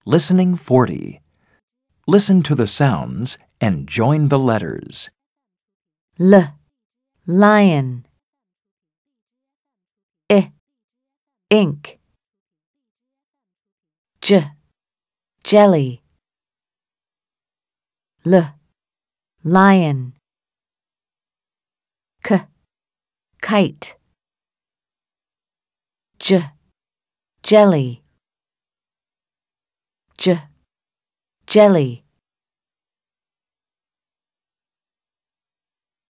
Listening 40. Listen to the sounds and join the letters. L, lion. I, ink. J, jelly. L, lion. K, kite. J, jelly. J, jelly.